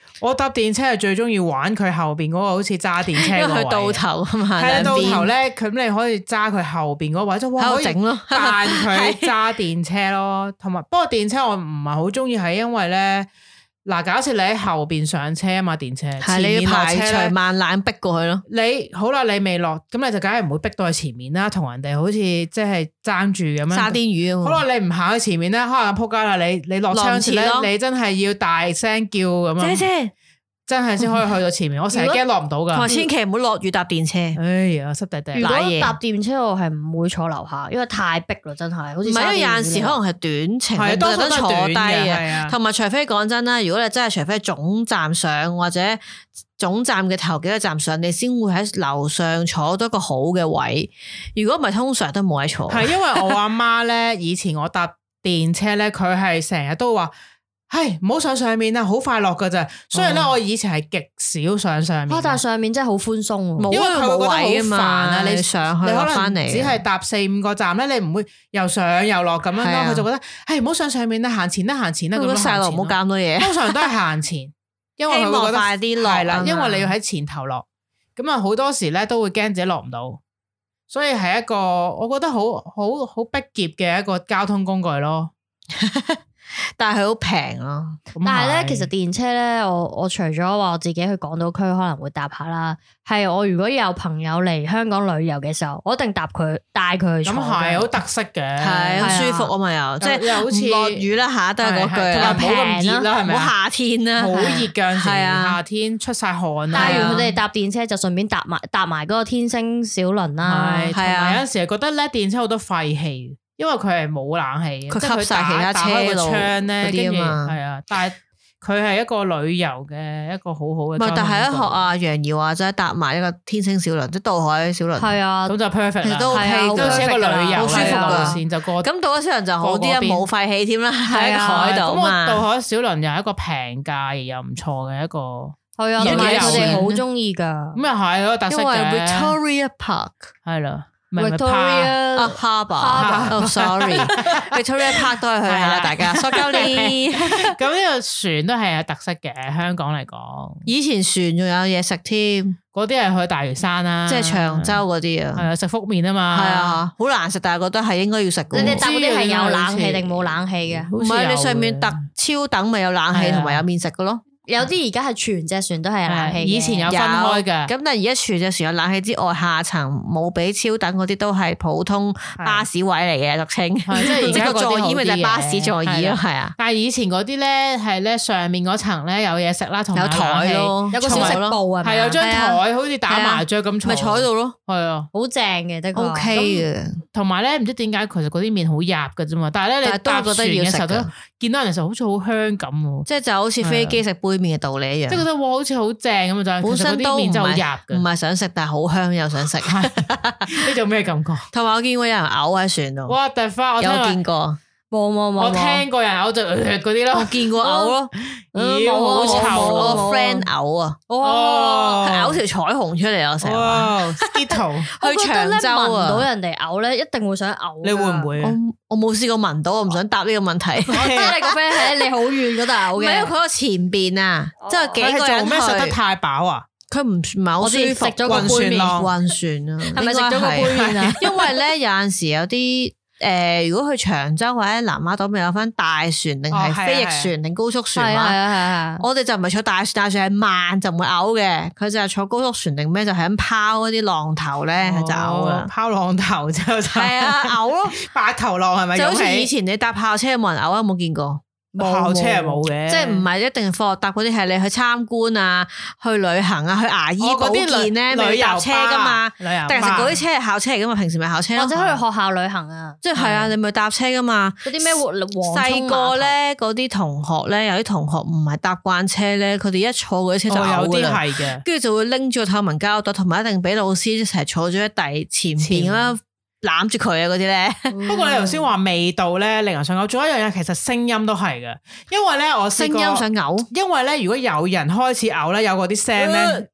我搭電車係最中意玩佢後邊嗰個好似揸電車個位， 佢到頭啊嘛， 係到頭咧，咁你可以揸佢後邊嗰位，就哇可以整咯，扮佢揸電車咯。同埋不過電車我唔係好中意，係因為咧嗱，假設你喺後邊上車啊嘛，電車係你要排除萬難逼過去咯。 你好啦，你未落，咁你就梗係唔會逼到去前面啦，同人哋好似即係爭住咁樣。沙甸魚啊！好啦，你唔行去前面咧，可能仆街啦，你落車時咧，你真係要大聲叫咁樣。姐姐。真係先可以去到前面，我成日驚落唔到噶。千祈唔好落雨搭電車。哎呀，濕地地。 如果搭電車，我係唔會坐樓下，因為太逼啦，真係。好似唔係，因為有陣時可能係短程，你都得坐低嘅。同埋除非講真啦，如果你真係除非總站上或者總站嘅頭幾個站上，你先會喺樓上坐到一個好嘅位。如果唔係，通常都冇位坐。係因為我阿媽咧，以前我搭電車咧，佢係成日都話。係唔好上面啊，好快落噶咋。所以咧，我以前係極少上面。但係上面真係好寬鬆，因為佢會覺得好煩啊。你上去你可能只係搭4-5個站咧，你唔會又上又落咁樣咯。佢就覺得係唔好上面啦，行前啦，行前啦。咁細路唔好搞咁多嘢。通常都係行前，因為佢會覺得快啲落。係啦，因為你要喺前頭落，咁啊好多時咧都會驚自己落唔到，所以係一個我覺得好逼仄嘅一個交通工具咯。但係佢好平咯，但係咧，其實電車咧，我除咗話我自己去港島區可能會搭下啦，係我如果有朋友嚟香港旅遊嘅時候，我一定帶佢去坐。咁係好特色嘅，係好舒服啊嘛又，即係好似落雨啦吓，都係嗰句，又唔好咁熱啦，係咪？唔好夏天啦，好熱噶，係啊，夏天出晒汗啦。帶完佢哋搭電車就順便搭埋嗰個天星小輪啦，係啊，有陣時係覺得咧電車好多廢氣。因為佢係冇冷氣，佢吸晒其他車路嗰啲啊嘛，係啊，但係佢係一個旅遊嘅一個好好嘅。唔係，但係一學阿楊怡話齋搭埋一個天星小輪，即係渡海小輪，係啊，咁就 perfect 啦，都 OK，都似一個旅遊好舒服嘅路線就過。咁渡海小輪就好啲啊，冇廢氣添啦，喺海度嘛。咁渡海小輪又係一個平價而又唔錯嘅一個，係啊，佢哋好中意噶。咁又係嗰個特色嘅。因為 Victoria Park 係啦。Victoria Harbour， sorry，Victoria Park 都係去下啦，大家。塑膠鏈，咁呢個船都係有特色嘅，香港嚟講。以前船仲有嘢食添，嗰啲係去大嶼山啦，即係長洲嗰啲啊，係啊，食福麵啊嘛，係啊，好難食，但係覺得係應該要食。你哋搭嗰啲係有冷氣定冇冷氣嘅？唔係，你上面特超等咪有冷氣同埋有麵食嘅咯。有啲而家係全隻船都係有冷氣，以前有分開嘅。咁但係而家全隻船有冷氣之外，下層冇俾超等嗰啲都係普通巴士位嚟嘅，俗稱。即係而家個座椅咪就係巴士座椅咯，係啊。但係以前嗰啲咧係咧上面嗰層咧有嘢食啦，同埋有台咯，有個小食部啊，係有張台好似打麻雀咁坐，咪坐喺度咯，係啊，好正嘅，的確 OK 嘅。同埋咧唔知點解其實嗰啲麵好入嘅啫嘛，但係咧你搭船嘅時候都見到人嘅時候好似好香咁，即係就好似飛機食杯麵嘅道理一樣，即係覺得哇好似好正咁啊！本身都唔係想食，但係好香又想食，呢種咩感覺？同埋我見過有人嘔喺船度，哇！突發我有見過，冇，我聽過人嘔就嗰啲咯，我見過嘔咯，咦好臭！我 friend 嘔啊，哇，嘔條彩虹出嚟啊！成日話 Skittle 去長洲啊，聞到人哋嘔咧，一定會想嘔。你會唔會？我冇試過聞到，我唔想答呢個問題。我知你個 friend 喺你好遠嗰度嘔嘅，唔係因為佢個前邊啊，即係幾個人去。做咩食得太飽啊？佢唔係好舒服。食咗個杯麵，暈船啊？係咪食咗個杯麵啊？因為咧有陣時有啲如果去長洲或者南丫島，咪有分大船定係飛翼船定高速船嘛？係。我哋就唔係坐大船，大船係慢就唔會嘔嘅。佢就係坐高速船定咩就係咁拋嗰啲浪頭咧，就嘔啊！拋浪頭之後就係啊嘔咯，白頭浪係咪？就好似以前你搭校車有冇人嘔啊？有冇見過？校車係冇嘅，即係唔係一定放學搭嗰啲，係你去參觀啊、去旅行啊、去牙醫保健咧，咪搭車噶嘛？旅遊，但係嗰啲車係校車嚟噶嘛？平時咪校車，或者去學校旅行啊？即係係啊，你咪搭車噶嘛？嗰啲咩細個咧，嗰啲同學咧，有啲同學唔係搭慣車咧，佢哋一坐嗰啲車就有啲係嘅，跟住就會拎住個透明膠袋，同埋一定俾老師一齊坐咗喺前邊啦。攬住佢啊嗰啲咧，不過你頭先話味道咧令人想嘔，仲有一樣嘢其實聲音都係嘅，因為咧我聲音想嘔，因為咧如果有人開始嘔咧，有嗰啲聲咧，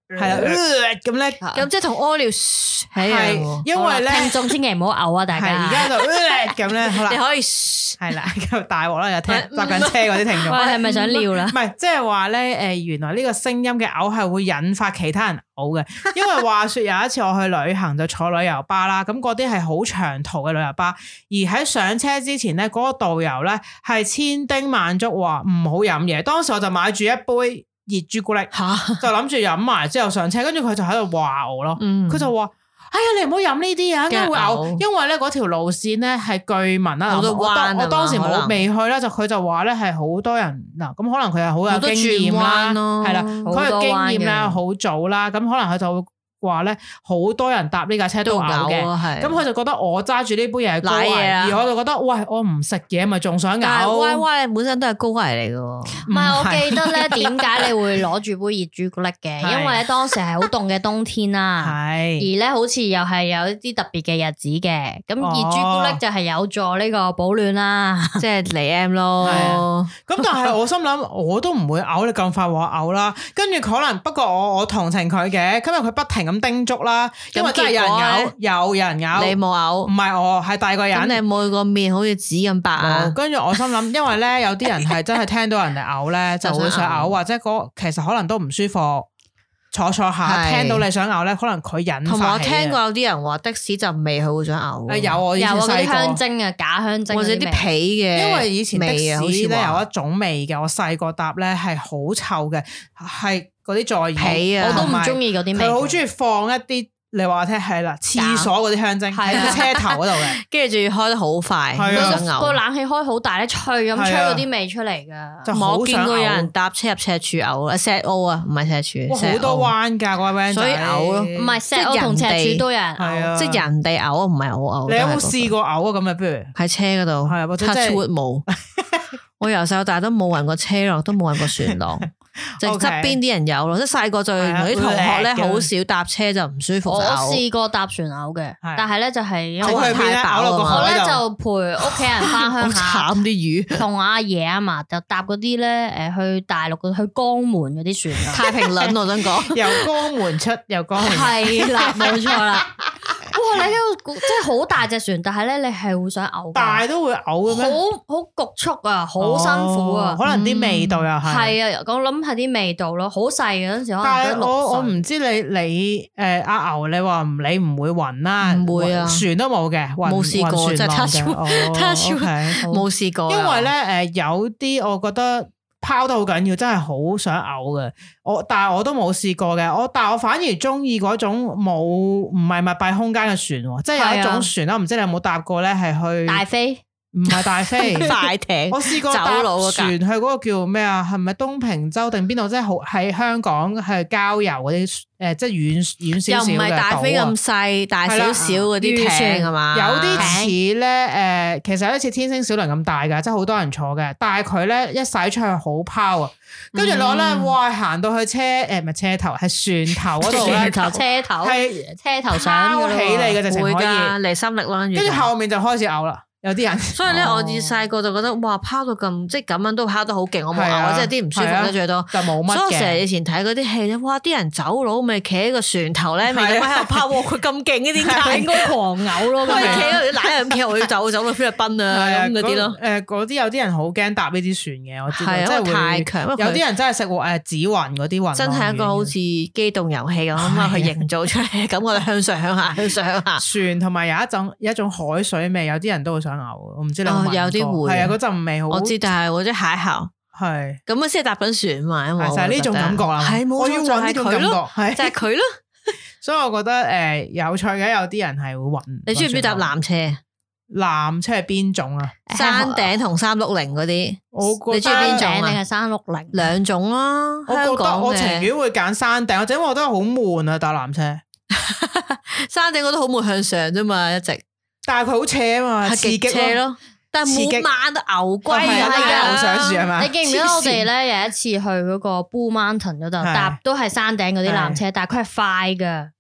係啦，咁咧， 咁即係同屙尿係， 因為咧聽眾千祈唔好嘔啊！大家而家就咁咧，好啦， 你可以係啦，咁大鑊啦，又聽搭緊車嗰啲聽眾， 我係咪想尿啦？ 唔係，即係話咧，原來呢個聲音嘅嘔係會引發其他人嘔嘅，因為話說有一次我去旅行就坐旅遊巴啦，咁嗰啲係好長途嘅旅遊巴，而喺上車之前咧，嗰個導遊咧係千叮萬囑話唔好飲嘢，當時我就買住一杯熱朱古力，就諗住飲埋之後上車，跟住佢就喺度話我咯，佢就話：哎呀，你唔好飲呢啲啊，應該會嘔，因為咧嗰條路線咧係據聞啦，我當時未去啦，佢就話咧係好多人嗱，咁可能佢係好有經驗啦，係啦，佢有經驗啦，好早啦，咁可能佢就會話咧好多人搭呢架車都嘔嘅，咁佢就覺得我揸住呢杯嘢係高危，而我就覺得喂，我唔食嘢咪仲想嘔。 但係 Y Y 本身都係高危嚟嘅， 唔係，我記得咧點解你會攞住杯熱朱古力嘅？因為咧當時係好凍嘅冬天啦，而咧好似又係有一啲特別嘅日子嘅，咁熱朱古力就係有助呢個保暖啦， 即係嚟 M 咯。 咁但係我心諗我都唔會嘔，你咁快話嘔啦，跟住可能不過我同情佢嘅，今日佢不停咁叮囑啦，因為真係有人嘔，有人嘔， 你冇嘔， 唔係我係第二個人。 咁你每個面好似紙咁白啊？ 跟住我心諗，因為咧有啲人係真係聽到人哋嘔咧就會想嘔，或者其實可能都唔舒服，坐下聽到你想嘔咧，可能佢引發起。 同埋我聽過有啲人話的士陣味佢會想嘔。 有我以前細個啲香精啊，假香精或者啲皮嘅， 因為以前的士咧有一種味嘅，我細個搭咧係好臭嘅，係嗰啲座椅皮啊， 我都唔中意嗰啲味。 佢好中意放一啲，你話我聽係啦，廁所嗰啲香精喺車頭嗰度嘅， 跟住仲要開得好快， 個冷氣開好大咧，吹咁吹嗰啲味出嚟噶。 我見過有人搭車入赤柱嘔啊，石澳啊，唔係赤柱， 好多彎噶嗰位 van 仔， 所以嘔咯。 唔係石澳同赤柱都有人嘔， 即係人哋嘔，唔係我嘔。 你有冇試過嘔啊？咁啊，不如喺車嗰度， 係或者 touch wood冇。我由細到大都冇暈過車浪，都冇暈過船浪。就側邊啲人有咯，即係細個就啲同學咧好少搭車就唔舒服。 我試過搭船嘔嘅，但係咧就係因為太飽啦， 我咧就陪屋企人翻鄉下， 好慘啲魚， 同阿爺阿嫲就搭嗰啲咧去大陸去江門嗰啲船， 太平輪我想講， 由江門出由江門係啦，冇錯啦。哇！你喺度即係好大隻船，但係咧你係會想嘔， 大都會嘔嘅咩？ 好局促啊，好辛苦啊， 可能啲味道又係。 係啊，我諗係啲味道咯，好細嘅嗰陣時可能。 但係我唔知你阿牛，你話你唔會暈啦， 唔會啊， 船都冇嘅， 冇試過， 就 touch wood，冇試過。 因為咧有啲我覺得。拋得好緊要，真係好想嘔嘅。但係我都冇試過嘅。但係我反而中意嗰種唔係密閉空間嘅船，即係有一種船啦。唔知你有冇搭過咧？係去大飛， 唔係大飛快艇。 我試過搭船去嗰個叫咩啊？係咪東平洲定邊度？即係好喺香港係郊遊嗰啲即係遠少少嘅島。又唔係大飛咁細，大少少嗰啲艇係嘛？有啲似咧其實有啲似天星小輪咁大㗎，即係好多人坐嘅。但係佢咧一駛出去好拋啊！跟住我咧，哇！行到去唔係車頭，係船頭嗰度咧， 係車頭上拋起你嘅直情可以離心力啦。跟住後面就開始嘔啦。有啲人， 所以咧，我以細個就覺得哇，拋到咁，即係咁樣都拋得好勁，我冇嘔，即係啲唔舒服咧最多， 就冇乜嘅。 所以我成日以前睇嗰啲戲咧，哇！啲人走佬咪企喺個船頭咧，咪咁喺度拋，佢咁勁嘅點解？ 應該狂嘔咯， 佢企喺度瀨咁企，我要走到菲律賓啊咁嗰啲咯。 嗰啲有啲人好驚搭呢啲船嘅，我知道， 即係太強。有啲人真係食紫雲嗰啲雲， 真係一個好似機動遊戲咁啊！去營造出嚟，咁我哋向上向下向上向下。 船同埋有一種海水味，有啲人都會想嘔。我唔知你有啲會係啊，嗰陣味好。 我知，但係或者蟹殼係咁樣先係搭緊船嘛，因為就係呢種感覺啦。係冇錯，我要搵呢種感覺， 就係佢咯。 所以我覺得有趣嘅，有啲人係會暈。 你中唔中意搭纜車？ 纜車係邊種啊？ 山頂同360嗰啲， 你中意邊種定係360？ 兩種啦。 我覺得我情願會揀山頂，或者我覺得好悶啊搭纜車。 山頂我覺得好悶，向上啫嘛，一直。 但係佢好斜啊嘛，刺激咯。但係冇慢到牛龜啊！牛上樹係嘛？ 你記唔記得我哋咧有一次去嗰個 Blue Mountain 嗰度搭都係山頂嗰啲纜車，但係佢係快噶，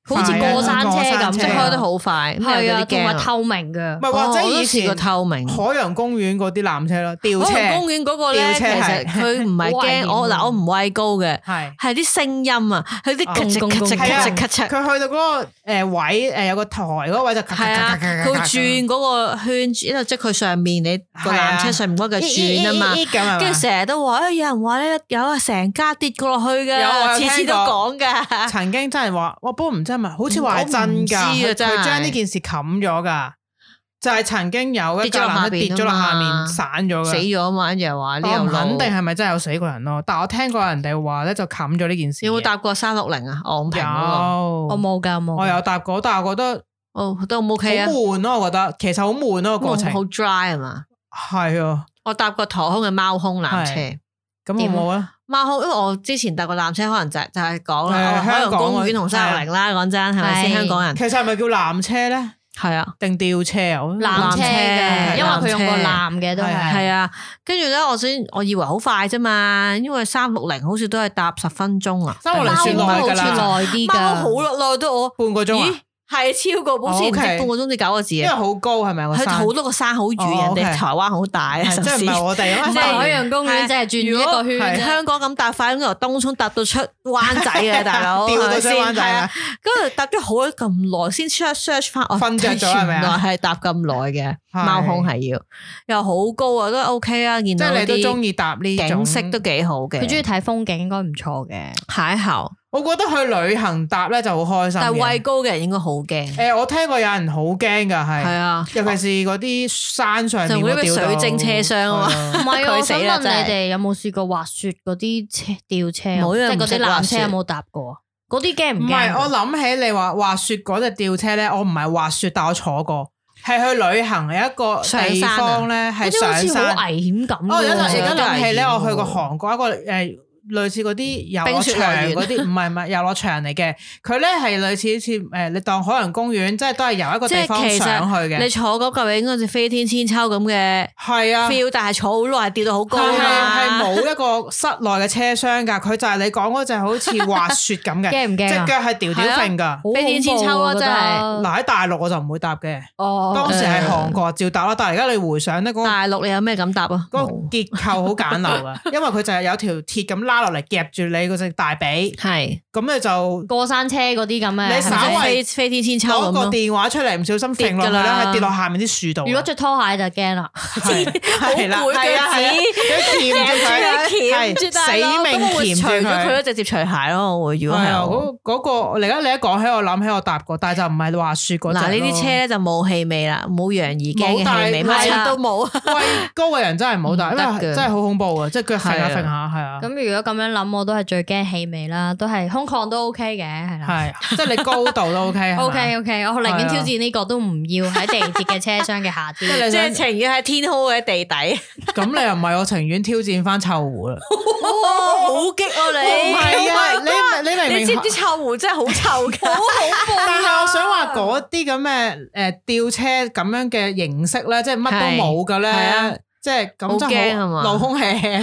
好似過山車咁， 即係開得好快。 係啊，同埋透明嘅。 唔係或者以前個透明海洋公園嗰啲纜車咯，吊車。 海洋公園嗰個咧，其實佢唔係驚我唔畏高嘅，係啲聲音啊，佢啲咔嚓咔嚓咔嚓咔嚓。 佢去到嗰個位有個台嗰個位就咔咔咔咔咔。 佢會轉嗰個圈，因為即係佢上面你個纜車上面嗰個轉啊嘛，跟住成日都話有人話咧有啊成家跌過落去嘅，次次都講噶。 曾經真係話，不過唔知係咪，好似話係真噶，佢將呢件事冚咗噶，就係曾經有一架纜車跌咗落下面散咗嘅， 死咗啊嘛，就係話呢樣。 肯定係咪真係有死過人咯？但係我聽過人哋話咧，就冚咗呢件事。 有冇搭過360啊？昂坪嗰個我冇噶， 我有搭過，但係我覺得都唔 OK 啊， 好悶咯，我覺得其實好悶咯個過程， 好 dry 係嘛？ 係啊， 我搭過台空嘅貓空纜車。 咁好冇啊？ 貓空，因為我之前搭過纜車，可能就係講啦，海洋公園同360啦，講真係咪先？香港人其實係咪叫纜車咧？ 係啊， 定吊車啊？ 纜車嘅，因為佢用個纜嘅都係。 係啊，跟住咧，我以為好快啫嘛，因為360好似都係搭10分鐘啊。 360算耐噶啦， 耐啲噶， 貓好耐都我半個鐘啊。 係超過，好似唔知半個鐘至9個字啊！ 因為好高係咪？ 佢好多個山好遠，人哋台灣好大啊！ 即係唔係我哋啊？ 即係海洋公園，即係轉一個圈。 香港咁搭快，咁由東涌搭到出灣仔嘅大佬， 調到出灣仔啊！ 跟住搭咗好咁耐，先 search 翻，我瞓着咗係咪啊？ 原來係搭咁耐嘅貓空係要，又好高啊，都 OK 啊！見到即係你都中意搭呢種景色都幾好嘅， 佢中意睇風景應該唔錯嘅。 邂逅， 我覺得去旅行搭咧就好開心。 但係畏高嘅人應該好驚。 我聽過有人好驚㗎，係啊， 尤其是嗰啲山上面嗰啲水晶車廂啊嘛。 唔係，我想問你哋有冇試過滑雪嗰啲吊車？即係嗰啲纜車有冇搭過？嗰啲驚唔驚？ 唔係，我諗起你話滑雪嗰隻吊車咧，我唔係滑雪，但我坐過，係去旅行有一個地方咧，係上山， 好危險咁。 而家諗起咧，我去過韓國一個類似嗰啲遊樂場嗰啲，唔係遊樂場嚟嘅。佢咧係類似好似你當海洋公園，即係都係由一個地方上去嘅。 你坐嗰嚿應該似飛天千秋咁嘅，係啊 feel，但係坐好耐，跌到好高啊！ 係冇一個室內嘅車廂㗎，佢就係你講嗰隻好似滑雪咁嘅， 驚唔驚？ 隻腳係吊吊揈㗎， 飛天千秋啊！真係嗱喺大陸我就唔會搭嘅。當時係韓國照搭啦，但係而家你回想咧，嗰個大陸你有咩咁搭啊？ 嗰個結構好簡陋㗎，因為佢就係有條鐵咁拉落嚟夾住你嗰隻大髀，係咁你就過山車嗰啲咁嘅， 你稍微飛天千秋攞個電話出嚟唔小心揈落去咧，係跌落下面啲樹度。 如果着拖鞋就驚啦， 係啦，係啊，鉗住佢，死命鉗住佢， 佢都直接除鞋咯。我會如果係嗰個，而家你一講起我諗起我搭過，但係就唔係滑雪嗰隻。 嗱呢啲車咧就冇氣味啦，冇楊怡驚嘅氣味，乜都冇。 畏高嘅人真係唔好搭，因為真係好恐怖啊！即係腳揈下揈下，係啊。 咁如果咁樣諗，我都係最驚氣味啦，都係空曠都 OK 嘅，係啦。 係，即係你高度都 OK。 OK，我寧願挑戰呢個，都唔要喺地鐵嘅車廂嘅夏天。 即係情願喺天空嘅地底。 咁你又唔係，我情願挑戰翻臭湖啦。 好激啊你！ 唔係啊，你明唔明？ 你知唔知臭湖真係好臭㗎？好恐怖。 但係我想話嗰啲咁嘅吊車咁樣嘅形式咧，即係乜都冇嘅咧。即係咁真係好露空氣，真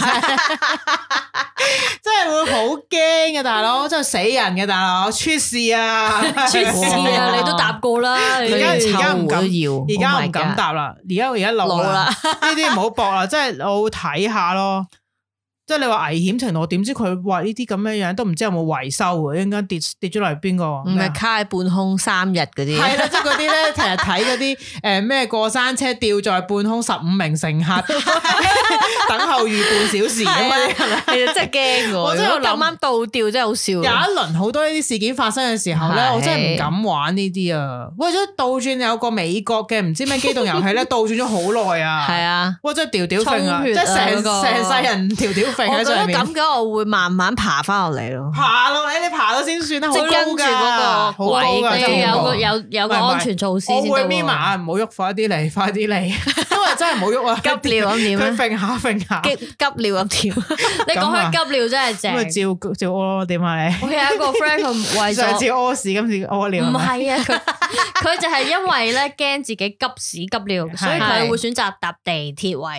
係會好驚嘅大佬，真係死人嘅大佬，出事啊！ 出事啊！你都搭過啦， 而家唔敢，而家唔敢搭啦，而家老啦，呢啲唔好搏啦，即係我會睇下咯。即係你話危險程度，我點知佢話呢啲咁樣樣都唔知有冇維修嘅，應該跌咗落嚟邊個？ 唔係卡喺半空3日嗰啲， 係啦，即係嗰啲咧，成日睇嗰啲咩過山車吊在半空15名乘客等候逾半小時咁樣，係咪？ 其實真係驚我真係咁啱倒吊真係好笑。 有一輪好多呢啲事件發生嘅時候咧，我真係唔敢玩呢啲啊！為咗倒轉有個美國嘅唔知咩機動遊戲咧，倒轉咗好耐啊！ 係啊， 哇！真係吊吊揈啊，即係成世人吊吊揈。 我覺得咁嘅我會慢慢爬翻落嚟咯， 爬落嚟，你爬到先算啦，好高噶， 好高噶， 有個安全措施先得。 我會眯埋眼，唔好喐，快啲嚟，快啲嚟，因為真係唔好喐啊！ 急尿咁點？ 佢揈下揈下， 急尿咁點？ 你講開急尿真係正。 咁咪照屙咯？點啊你？ 我有一個 friend 佢為咗上次屙屎，今次屙尿。 唔係啊，佢就係因為咧驚自己急屎急尿，所以佢會選擇搭地鐵為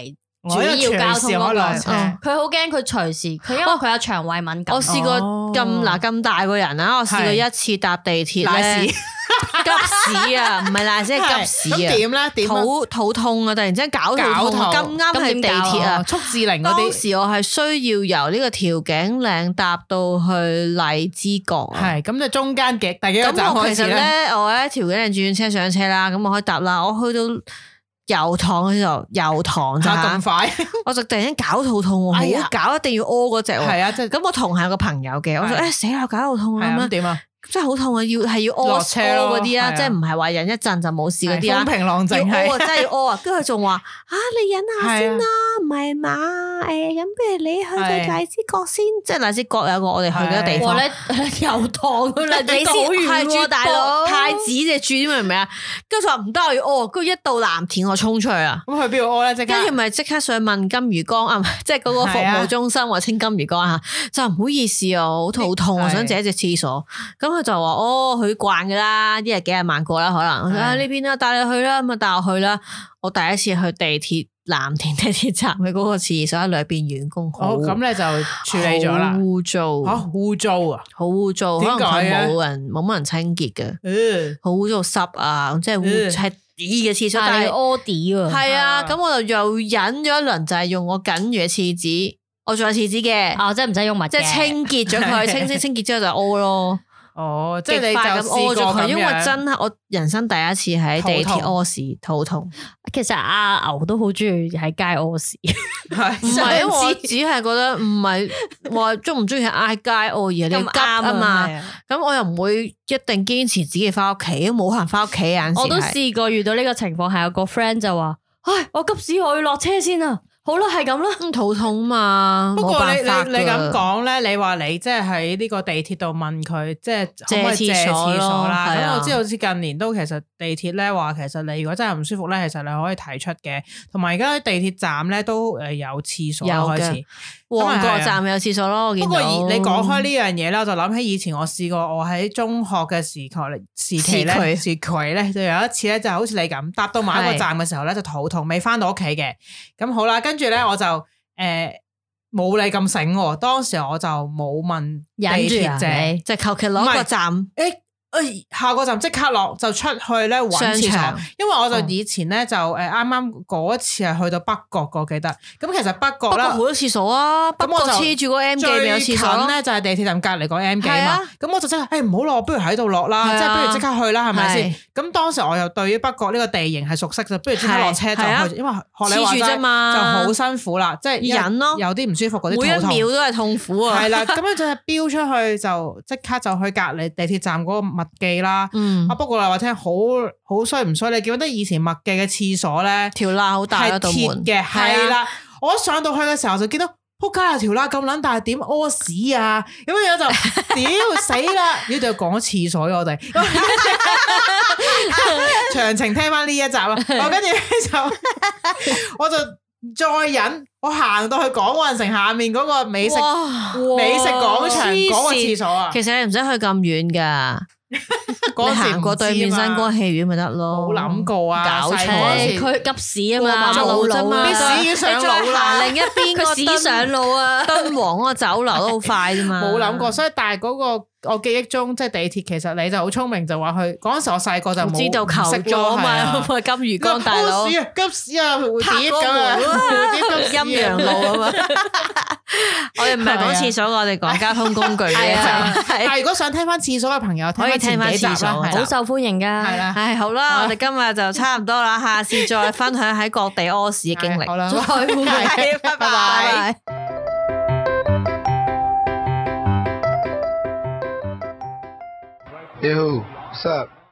主要交通嗰個，佢好驚佢隨時，佢因為佢有腸胃敏感。 我試過咁大個人啊，我試過一次搭地鐵咧，急屎啊，唔係賴屎係急屎啊。 點咧？ 肚痛啊！突然之間搞肚痛，咁啱係地鐵啊， 速治靈嗰啲。 當時我係需要由呢個調景嶺搭到去荔枝角。 係咁就中間第幾個站開始咧？ 其實咧，我喺調景嶺轉車上車啦，咁我可以搭啦。我去到油塘嘅時候，油塘咋咁快？ 我就突然間搞肚痛，好搞，一定要屙嗰隻。 係啊，即係咁我同行有個朋友嘅，我話死啦，搞肚痛啊咁樣。點啊？真係好痛啊！要屙車嗰啲啊，即係唔係話忍一陣就冇事嗰啲啊？ 風平浪靜係， 真係要屙啊！跟住佢仲話你忍下先啦，唔係嘛？咁不如你去到荔枝角先，即係荔枝角有個我哋去嘅地方。 油塘啦，你好遠喎，大佬。 太子隻住明唔明啊？跟住話唔得，我要屙。跟住一到藍田，我衝出去啊！ 咁去邊度屙咧？ 跟住咪即刻上問金魚缸啊，即係嗰個服務中心或稱金魚缸嚇，就唔好意思啊，好肚痛，我想借一隻廁所。咁佢就話佢慣噶啦，一日幾廿萬個啦，可能呢邊啦，帶你去啦，咁啊帶我去啦。我第一次去地鐵藍田地鐵站嘅嗰個廁所，裏邊員工好， 咁你就處理咗啦。 污糟， 好污糟啊， 好污糟，可能佢冇乜人清潔嘅，好污糟濕啊，即係污係啲嘅廁所，但係屙啲啊， 係啊，咁我就又忍咗一輪，就係用我僅餘嘅廁紙，我仲有廁紙嘅， 即係唔使用物， 即係清潔咗佢，清潔之後就屙咯。 即係你就試過咁樣， 因為真係我人生第一次喺地鐵屙屎肚痛。 其實阿牛都好中意喺街屙屎， 唔係因為我只係覺得唔係話中唔中意喺嗌街屙，而係你急啊嘛。咁我又唔會一定堅持自己翻屋企，冇可能翻屋企啊。 我都試過遇到呢個情況，係有個 friend 就話：我急屎，我要落車先啊！好啦，係咁啦， 肚痛嘛。 不過你咁講咧，你話你即係喺呢個地鐵度問佢，即係可唔可以借廁所啦？咁我知道好似近年都其實地鐵咧話，其實你如果真係唔舒服咧，其實你可以提出嘅。同埋而家地鐵站咧都有廁所開始， 旺角站有廁所咯。 不過你講開呢樣嘢咧，我就諗起以前我試過，我喺中學嘅時期咧，就有一次咧，就好似你咁搭到某一個站嘅時候咧，就肚痛，未翻到屋企嘅。咁好啦，跟住咧我就冇你咁醒喎，當時我就冇問地鐵借， 即係求其攞個站。 下個站即刻落就出去咧揾廁所，因為我就以前咧就啱啱嗰一次係去到北角個記得，咁其實北角啦好多廁所啊，咁我就黐住個 M 記咪有廁所咯， 咧就係地鐵站隔離個 M 記嘛，咁我就即係唔好落，不如喺度落啦，即係不如即刻去啦，係咪先？咁當時我又對於北角呢個地形係熟悉，就不如即刻落車就去，因為學你話齋就好辛苦啦，即係忍咯，有啲唔舒服嗰啲， 每一秒都係痛苦啊， 係啦，咁樣就係飆出去就即刻就去隔離地鐵站嗰個麥記啦，不過話聽好衰唔衰？你記唔記得以前麥記嘅廁所咧條罅好大，係鐵嘅，係啦。我一上到去嘅時候就見到仆街啊，條罅咁撚大，點屙屎啊？咁樣就屌死啦！呢度講廁所我哋詳情聽翻呢一集啦。我跟住就我就再忍，我行到去港運城下面嗰個美食廣場嗰個廁所啊。 其實你唔使去咁遠噶。你行過對面新光戲院咪得咯？ 冇諗過啊！ 搞錯， 佢急屎啊嘛， 馬路啫嘛， 啲屎已經上路啦。 另一邊佢屎上路啊， 敦煌嗰個酒樓都好快啫嘛。 冇諗過，所以但係嗰個我記憶中即係地鐵，其實你就好聰明，就話去嗰陣時我細個就冇知道求助啊嘛，金魚缸大佬急屎啊，跌咁啊， 陰陽路啊嘛。我哋唔係講廁所，我哋講交通工具嘅。 但係如果想聽翻廁所嘅朋友，可以聽翻廁所， 好受歡迎噶。係啦， 好啦，我哋今日就差唔多啦，下次再分享喺各地屙屎嘅經歷。 好啦， 再會，拜拜。 Yo, what's up?